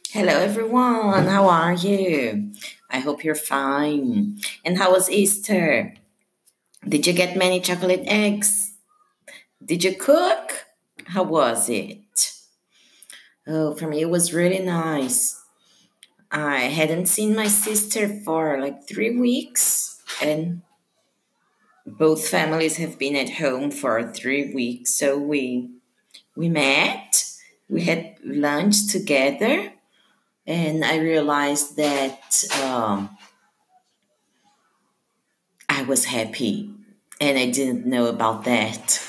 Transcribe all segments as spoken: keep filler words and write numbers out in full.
Hello, everyone. How are you? I hope you're fine. And how was Easter? Did you get many chocolate eggs? Did you cook? How was it? Oh, for me, it was really nice. I hadn't seen my sister for like three weeks, and both families have been at home for three weeks. So we we met. We had lunch together, and I realized that. Um, I was happy and I didn't know about that.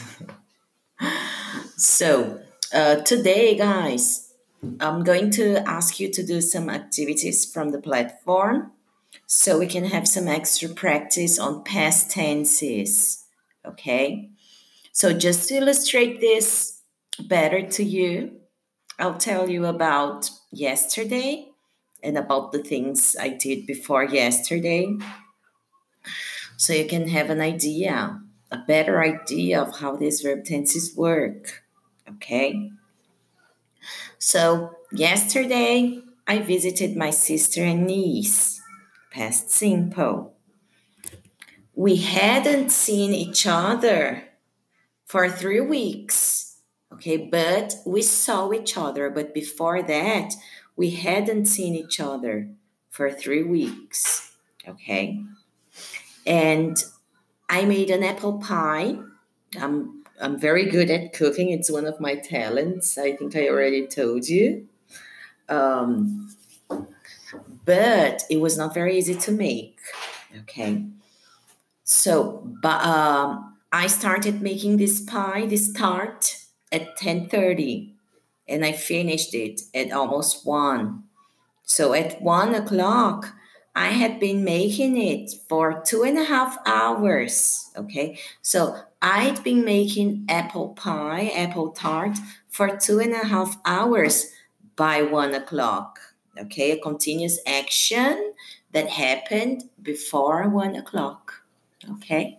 So, uh, today, guys, I'm going to ask you to do some activities from the platform so we can have some extra practice on past tenses. Okay? So, just to illustrate this better to you, I'll tell you about yesterday and about the things I did before yesterday so you can have an idea, a better idea of how these verb tenses work. Okay? So, yesterday I visited my sister and niece. Past simple. We hadn't seen each other for three weeks. Okay, but we saw each other. But before that, we hadn't seen each other for three weeks. Okay, and I made an apple pie. I'm I'm very good at cooking. It's one of my talents. I think I already told you. Um, but it was not very easy to make. Okay, so but um, I started making this pie, this tart, at ten thirty, and I finished it at almost one. So at one o'clock, I had been making it for two and a half hours. Okay. So I'd been making apple pie, apple tart for two and a half hours by one o'clock. Okay. A continuous action that happened before one o'clock. Okay.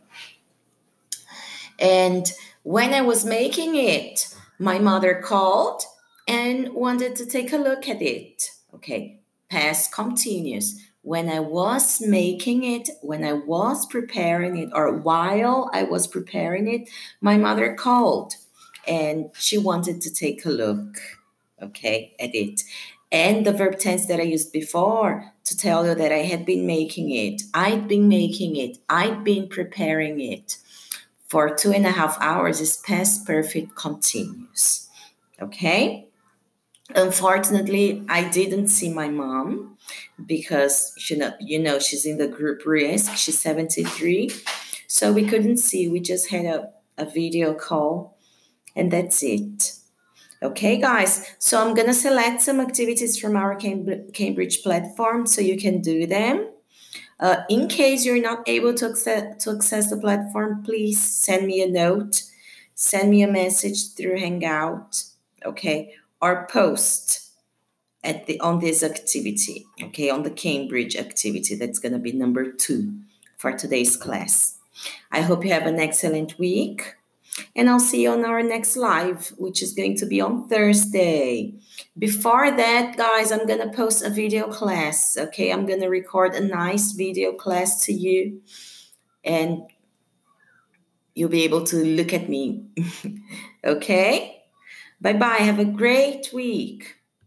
And when I was making it, my mother called and wanted to take a look at it. Okay, past continuous. When I was making it, when I was preparing it, or while I was preparing it, my mother called and she wanted to take a look, okay, at it. And the verb tense that I used before to tell you that I had been making it, I'd been making it, I'd been preparing it for two and a half hours is past perfect continuous. Okay? Unfortunately, I didn't see my mom because she know, you know she's in the group risk. She's seventy-three. So we couldn't see. We just had a, a video call and that's it. Okay, guys. So I'm going to select some activities from our Cambridge platform so you can do them. Uh, in case you're not able to access, to access the platform, please send me a note, send me a message through Hangout, okay, or post at the on this activity, okay, on the Cambridge activity. That's going to be number two for today's class. I hope you have an excellent week. And I'll see you on our next live, which is going to be on Thursday. Before that, guys, I'm going to post a video class. Okay, I'm going to record a nice video class to you, and you'll be able to look at me. Okay, bye bye. Have a great week.